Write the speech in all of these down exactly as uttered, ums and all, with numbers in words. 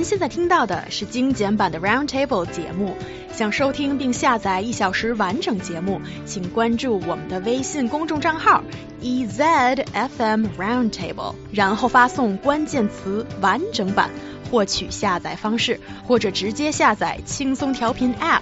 现在听到的是精简版的 Roundtable 节目。想收听并下载一小时完整节目，请关注我们的微信公众账号 E Z F M Roundtable， 然后发送关键词完整版获取下载方式，或者直接下载轻松调频 App。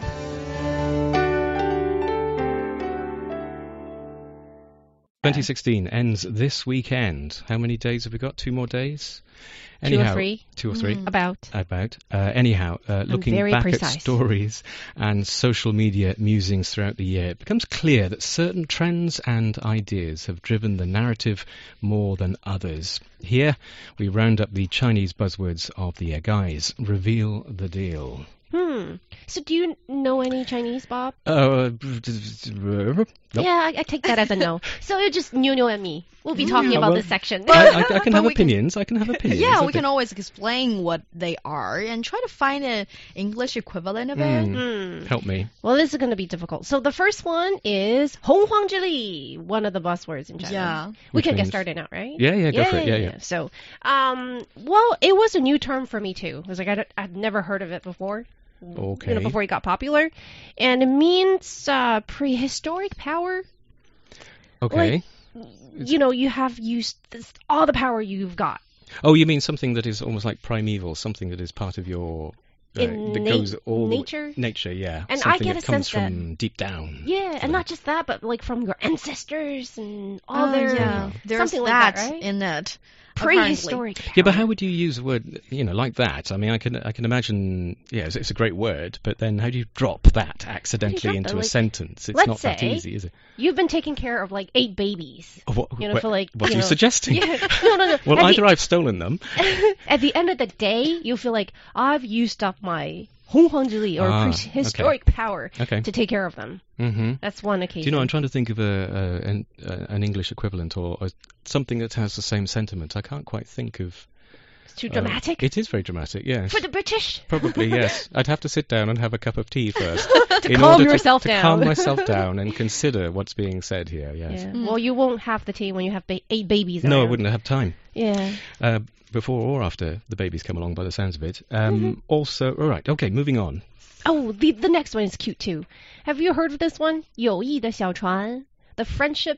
twenty sixteen ends this weekend. How many days have we got? Two more days? Anyhow, Anyhow, two or three. Two or three. Mm. About. About. Uh, anyhow, uh, looking back precise. at stories and social media musings throughout the year, it becomes clear that certain trends and ideas have driven the narrative more than others. Here, we round up the Chinese buzzwords of the year. Guys, reveal the deal. Hmm. So do you know any Chinese, Bob? Uh, nope. Yeah, I, I take that as a no. So it's just Nuno and me. We'll be talking Yeah, about well, this section. I, I, I can But have we can- opinions. I can have opinions. Yeah, I we think. can always explain what they are and try to find an English equivalent of it. Mm. Hmm. Help me. Well, this is going to be difficult. So the first one is 洪荒之力, one of the buzzwords in China. Yeah. We Which can get means- started now, right? Yeah, yeah, go for it. Yeah, yeah. So, um, well, it was a new term for me too. It was like I don't- I'd never heard of it before. Okay. You know, before it got popular, and it means uh, prehistoric power. Okay. Like, you know, you have used this, all the power you've got. Oh, you mean something that is almost like primeval, something that is part of your uh, In that na- goes all the- nature? nature, yeah. And I something get that a comes sense that- from deep down. Yeah, sort and of. not just that, but like from your ancestors and all Oh, their yeah. There's something that like that, right? in it. apparently. Prehistoric power. Yeah, but how would you use a word, you know, like that? I mean, I can I can imagine, yeah, it's, it's a great word, but then how do you drop that accidentally drop into that? a Like, sentence? It's let's not that say easy, is it? You've been taking care of like eight babies. Oh, what, You know, what, for like, what you are you know- suggesting? Yeah, no, no, no. Well, At either the- I've stolen them. At the end of the day, you'll feel like I've used up my 洪荒之力 or Ah, prehistoric power Okay. to take care of them. Mm-hmm. That's one Do occasion. you know, I'm trying to think of a, a an, uh, an English equivalent or, or something that has the same sentiment. I can't quite think of. It's too uh, dramatic. it is very dramatic, yes. For the British. Probably, yes. I'd have to sit down and have a cup of tea first. To in calm order yourself to, down. To calm myself down and consider what's being said here, yes. Yeah. Mm. Well, you won't have the tea when you have ba- eight babies. No, I around. wouldn't have time. Yeah. Uh, before or after the babies come along, by the sounds of it. Um, Mm-hmm. Also, all right, okay, moving on. Oh, the the next one is cute too. Have you heard of this one? 友谊的小船, the friendship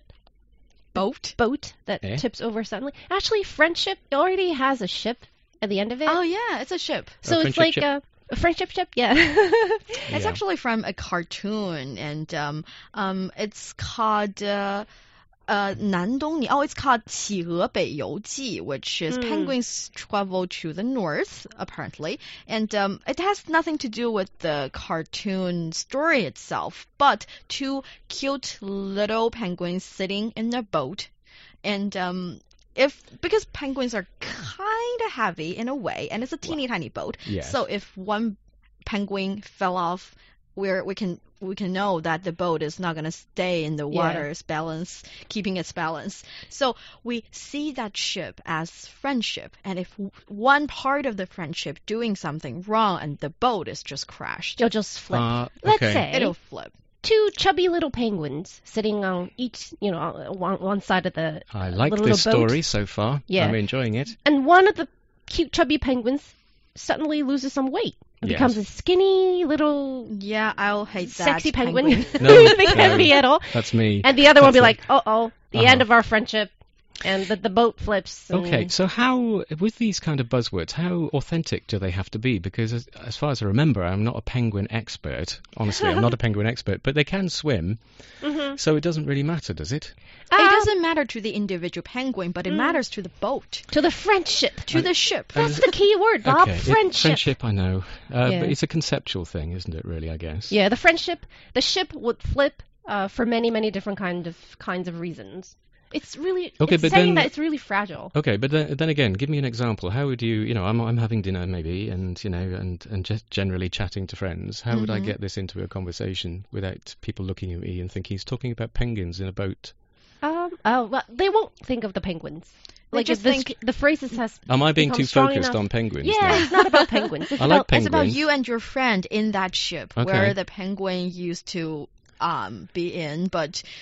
Boat? boat that Eh? tips over suddenly. Actually, friendship already has a ship at the end of it. Oh, yeah, it's a ship. so A it's friendship like ship? a, a friendship ship. Yeah. It's Yeah. actually from a cartoon, and um, um, it's called uh, uh, 南东尼. Oh, it's called 企鹅北游记, which is Mm. penguins travel to the north, apparently. And um, it has nothing to do with the cartoon story itself, but two cute little penguins sitting in a boat. And um, if because penguins are kind of heavy in a way, and it's a teeny tiny boat, Yes. so if one penguin fell off, where we can we can know that the boat is not going to stay in the Yeah. water's balance, keeping its balance. So we see that ship as friendship, and if w- one part of the friendship doing something wrong and the boat is just crashed, You'll just flip. Uh, Let's okay. say it'll flip. two chubby little penguins sitting on each, you know, on one, one side of the I like little this boat. story so far. Yeah. I'm enjoying it. And one of the cute chubby penguins suddenly loses some weight. It Yes. becomes a skinny little Yeah, I'll hate that. sexy penguin. No, they can't no. be at all. That's me. And the other one will be That's like, uh-oh, the Uh-huh. end of our friendship. And the, the boat flips. and- Okay, so how, with these kind of buzzwords, how authentic do they have to be? Because as, as far as I remember, I'm not a penguin expert. Honestly, I'm not a penguin expert, but they can swim, Mhm. so it doesn't really matter, does it? It Um, doesn't matter to the individual penguin, but it Mm. matters to the boat, To the friendship. to the ship. And- That's the key word, Bob. Okay, it- friendship. friendship, I know. Uh, Yeah. But it's a conceptual thing, isn't it, really, I guess? Yeah, the friendship. The ship would flip uh, for many, many different kind of kinds of reasons. It's really Okay, it's but saying then- that it's really fragile. Okay, but then, then again, give me an example. How would you, you know, I'm I'm having dinner maybe, and you know, and and just generally chatting to friends. How would I Mhm. get this into a conversation without people looking at me and thinking he's talking about penguins in a boat? Um, oh, well, they won't think of the penguins. They Like just if this, think- the phrases has. Am I being become too strong focused enough- on penguins? Yeah, now? it's not about penguins. It's I about like penguins. It's about you and your friend in that ship Okay. where the penguin used to um, be in, but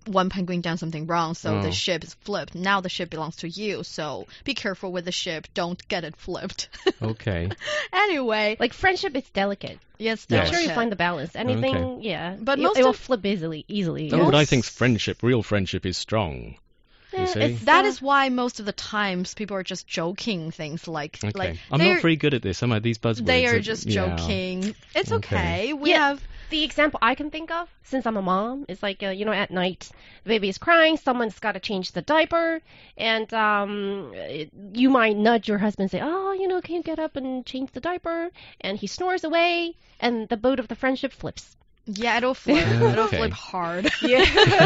one penguin done something wrong, so Oh. the ship is flipped. Now the ship belongs to you, so be careful with the ship. Don't get it flipped. Okay. Anyway, Like friendship, it's delicate. yes, Yes. Make sure you delicate. find the balance. Anything, yeah. But it, most it will of- flip easily. Easily. Oh, yeah. but I Most- think friendship, real friendship, is strong. You Eh, see? it's, That uh, is why most of the times people are just joking things like Okay. like I'm they're- not very good at this, am I? These buzzwords. they are are- just yeah. joking. It's Okay. okay. We Yeah. have the example I can think of, since I'm a mom, is like, uh, you know, at night, the baby is crying, someone's got to change the diaper, and um, it, you might nudge your husband and say, oh, you know, can you get up and change the diaper? And he snores away, and the boat of the friendship flips. yeah, it'll flip. Okay. It'll flip hard. Yeah.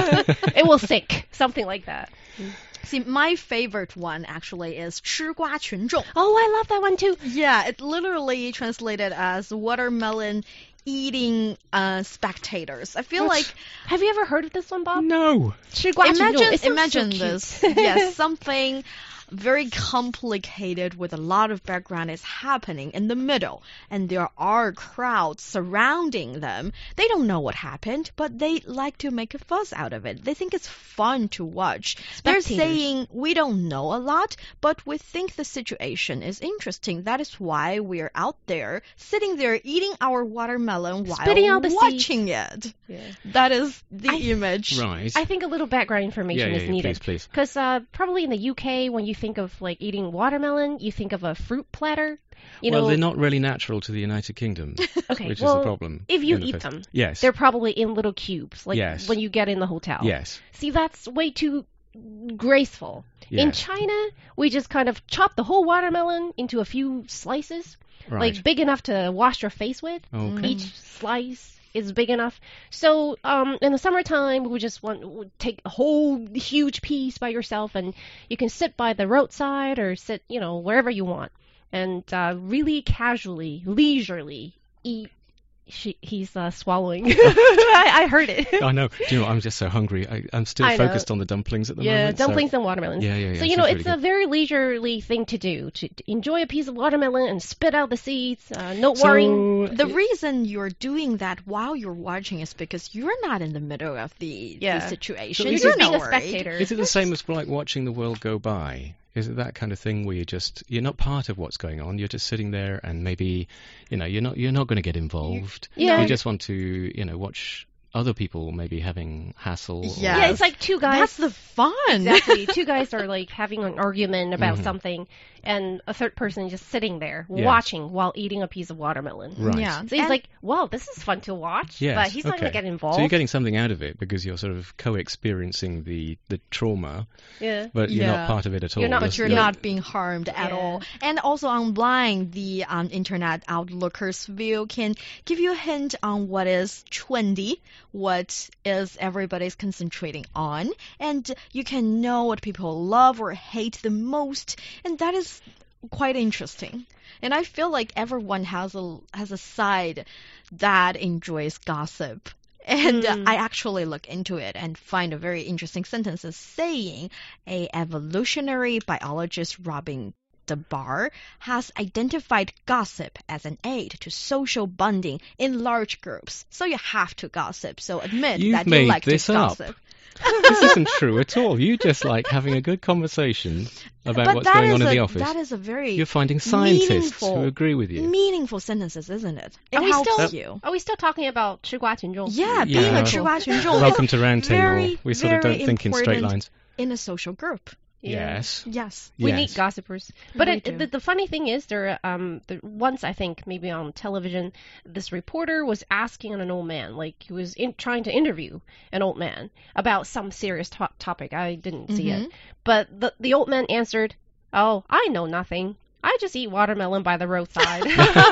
It will sink, something like that. See, my favorite one actually is 吃瓜群众. Oh, I love that one too. Yeah, it literally translated as watermelon eating uh, spectators. I feel like Have you ever heard of this one, Bob? No. 吃瓜群众. imagine It sounds imagine so cute. this. Yes, something very complicated with a lot of background is happening in the middle, and there are crowds surrounding them. They don't know what happened, but they like to make a fuss out of it. They think it's fun to watch. They're Spectators. saying we don't know a lot, but we think the situation is interesting. That is why we're out there, sitting there eating our watermelon while Spitting out the seeds. watching it. Yeah. That is the I- image. Right. I think a little background information yeah, yeah, is yeah, needed. please, please. Because uh, probably in the U K, when you think of like eating watermelon, you think of a fruit platter. You well, know, they're not really natural to the United Kingdom, okay, which well, is the problem. if you in the eat first- them, Yes. they're probably in little cubes, like Yes. when you get in the hotel. Yes. See, that's way too graceful. Yes. In China, we just kind of chop the whole watermelon into a few slices, Right. like big enough to wash your face with. Okay. Each slice is big enough. So um, in the summertime, we just want we take a whole huge piece by yourself, and you can sit by the roadside or sit, you know, wherever you want, and uh, really casually, leisurely eat. She, he's uh, swallowing. I, I heard it. I know. Do you know what? I'm just so hungry. I, I'm still I know. focused on the dumplings at the Yeah, moment. so- dumplings and watermelons. Yeah, yeah, yeah. So, you it know, sounds it's really a very leisurely thing to do, to, to enjoy a piece of watermelon and spit out the seeds, uh, no good. worrying. So, The reason you're doing that while you're watching is because you're not in the middle of the, Yeah. the situation. So You're is you're just being not a worried. spectator. is it the same as like watching the world go by? Is it that kind of thing where you're just you're not part of what's going on? You're just sitting there, and maybe you know you're not you're not going to get involved. Yeah. You just want to you know watch other people maybe having hassle. or- Yeah. Yeah, it's like two guys. That's the fun. Exactly. Two guys are like having an argument about Mhm. something, and a third person is just sitting there Yes. watching while eating a piece of watermelon. Right. Yeah. So he's And- like, "Wow, this is fun to watch," Yes, but he's not okay. going to get involved. So you're getting something out of it because you're sort of co-experiencing the, the trauma, yeah. but you're Yeah. not part of it at all. You're not- But you're You're- not being harmed at Yeah. all. And also online, the um, internet outlooker's view can give you a hint on what is trendy, what is everybody's concentrating on, and you can know what people love or hate the most, and that is quite interesting. And I feel like everyone has a has a side that enjoys gossip. And uh, Mm. I actually look into it and find a very interesting sentence saying a evolutionary biologist Robin DeBar has identified gossip as an aid to social bonding in large groups. So you have to gossip. So admit You've that you made like this to up. gossip. This isn't true at all. You just like having a good conversation about but what's that going is on in a, the office. that is a very You're finding scientists meaningful- who agree with you. meaningful sentences, isn't it? It Are we helps still- you. Are we still talking about 吃瓜群众? Yeah, Yeah. being a 吃瓜群众 Welcome is to Roundtable. very, We sort of very don't think in straight important lines. in a social group. Yeah. Yes. Yes. We yes. need gossipers. But We it, do. the, the funny thing is, there um, there, once I think maybe on television, this reporter was asking an old man, like he was in, trying to interview an old man about some serious to- topic. I didn't see Mhm. it, but the the old man answered, "Oh, I know nothing. I just eat watermelon by the roadside."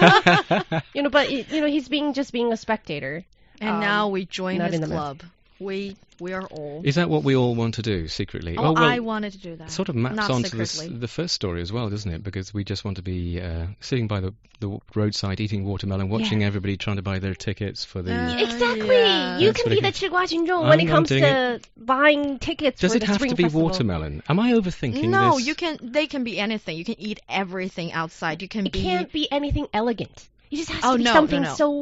you know, but it, you know, he's being just being a spectator. And Um, now we join not his in the mess. club. We we are all. Is that what we all want to do secretly? Oh, well, I wanted to do that. sort of maps Not onto the, s- secretly. the first story as well, doesn't it? Because we just want to be uh, sitting by the, the roadside eating watermelon, watching everybody trying to buy their tickets for the. Uh, Exactly. yeah. You That's can what be it the is. 吃瓜群众 I'm when it not comes doing to buying tickets Does for it the have Spring to be Festival. watermelon? Am I overthinking No, this? you can. They can be anything. You can eat everything outside. You can It be. can't be anything elegant. It just has Oh, to be no, no, something no. so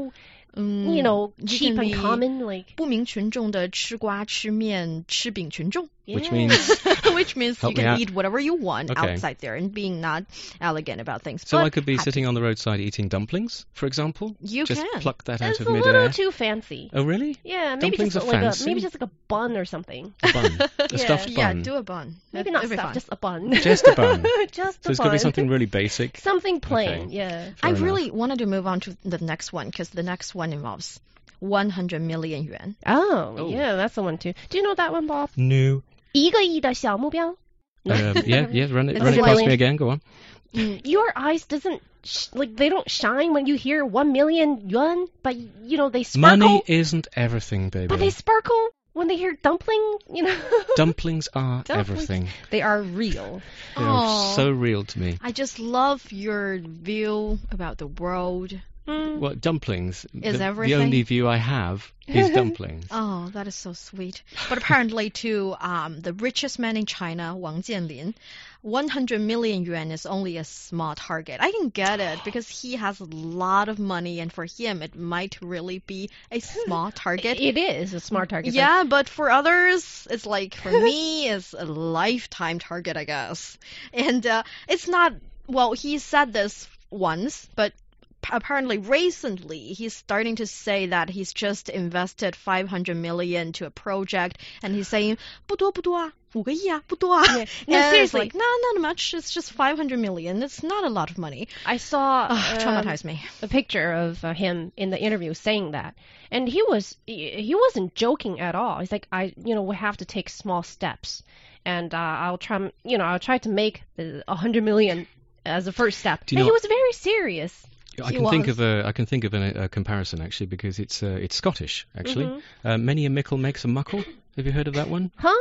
Mm, you know, you cheap can and be common, like 不明群众的吃瓜吃面吃饼群众 Which yeah. means which means Help you me can out. eat whatever you want Okay. outside there and being not elegant about things. so But I could be happy. sitting on the roadside eating dumplings, for example. You just can. pluck that That's out of a midair. little too fancy. Oh really? Yeah, maybe Dumplings just are like fancy. a maybe just like a bun or something. A bun, a Yeah. stuffed Yeah, bun. do a bun. Maybe That- not that'd be stuff, fun. just a bun. Just a bun. Just a So it's bun. got to be something really basic. Something plain. Okay. Yeah. Fair I enough. really wanted to move on to the next one because the next one involves one hundred million yuan. Oh, Oh. yeah, that's the one too. Do you know that one, Bob? No. 一个亿的小目标. No? Um, yeah, yeah. Run it, It's run it like- past me again. Go on. Your eyes doesn't sh- like they don't shine when you hear one million yuan, but you know they sparkle. Money isn't everything, baby. But they sparkle when they hear dumpling. You know. Dumplings are Dumplings. everything. They are real. They Aw. are so real to me. I just love your view about the world. Mm. Well, dumplings. Is the, everything? the only view I have is dumplings. Oh, that is so sweet. But apparently, to um, the richest man in China, Wang Jianlin, one hundred million yuan is only a small target. I can get it because he has a lot of money, and for him, it might really be a small target. It is a smart target. Yeah, but for others, it's like, for me, it's a lifetime target, I guess. And uh, it's not, well, he said this once, but p- apparently recently he's starting to say that he's just invested five hundred million to a project, and he's saying, 不多不多啊，五个亿啊，不多啊. Yeah. No, And it's seriously. like, no, not much. It's just five hundred million. It's not a lot of money. I saw Ugh, um, traumatized me. a picture of uh, him in the interview saying that, and he was he, he wasn't joking at all. He's like, I you know we have to take small steps, and uh, I'll try you know I'll try to make the a hundred million as a first step. Do you And he know- was very serious. I He can think was. of a I can think of a, a comparison actually because it's uh, it's Scottish actually. Mhm. Uh, many a mickle makes a muckle. Have you heard of that one? Huh?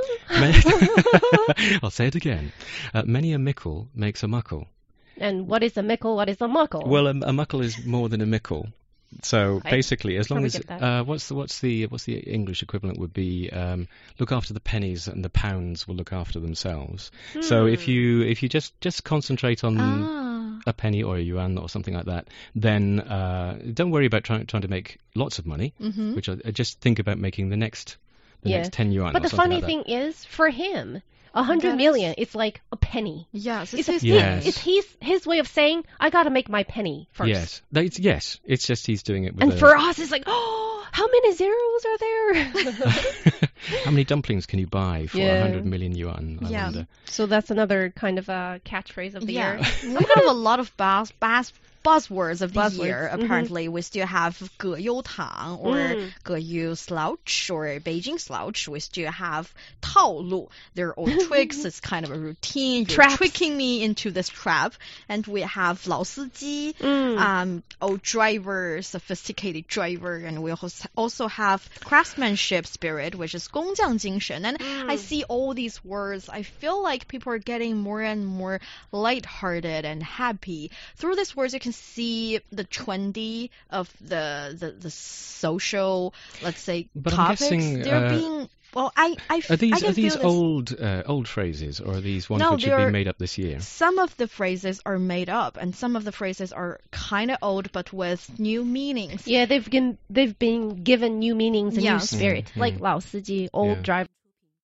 Ma- I'll say it again. Uh, many a mickle makes a muckle. And what is a mickle? What is a muckle? Well, a, a muckle is more than a mickle. So I basically, as long probably as get that. uh, what's the what's the what's the English equivalent would be um, look after the pennies and the pounds will look after themselves. So if Hmm. you if you just just concentrate on Ah. a penny or a yuan or something like that, then uh, don't worry about trying trying to make lots of money. Mhm. Which I, I just think about making the next the Yeah. next ten yuan. But or the something funny like that. thing is, for him, a hundred That million, is- it's like a penny. Yes, It's, it's his, his Yes. it's his, his way of saying, I gotta make my penny first. Yes, That- it's, yes, it's just he's doing it with And a, for us, it's like, oh, how many zeros are there? How many dumplings can you buy for a Yeah. hundred million yuan? I Yeah. wonder. So that's another kind of a catchphrase of the Yeah, year. we have a lot of buzz, buzz, buzzwords of the Buzzwords, year. mhm. Apparently, we still have 葛优躺 or Mm. 葛优 slouch or Beijing slouch. We still have 套路. They're all tricks. It's kind of a routine. You're Traps. tricking me into this trap. And we have 老司机, Mm. um, old driver, sophisticated driver, and we also also have craftsmanship spirit, which is 工匠精神. And I Mm. see all these words. I feel like people are getting more and more lighthearted and happy. Through these words, you can see the trendy of the the, the social, let's say, But I'm topics. guessing, They're uh, being well. I I, f- Are I these can are these feel this. old uh, old phrases or are these ones No, which have they're- been made up this year? Some of the phrases are made up, and some of the phrases are kind of old, but with new meanings. Yeah, they've been they've been given new meanings and Yes. new spirit, Mm, like mm. 老司机, old Yeah. driver.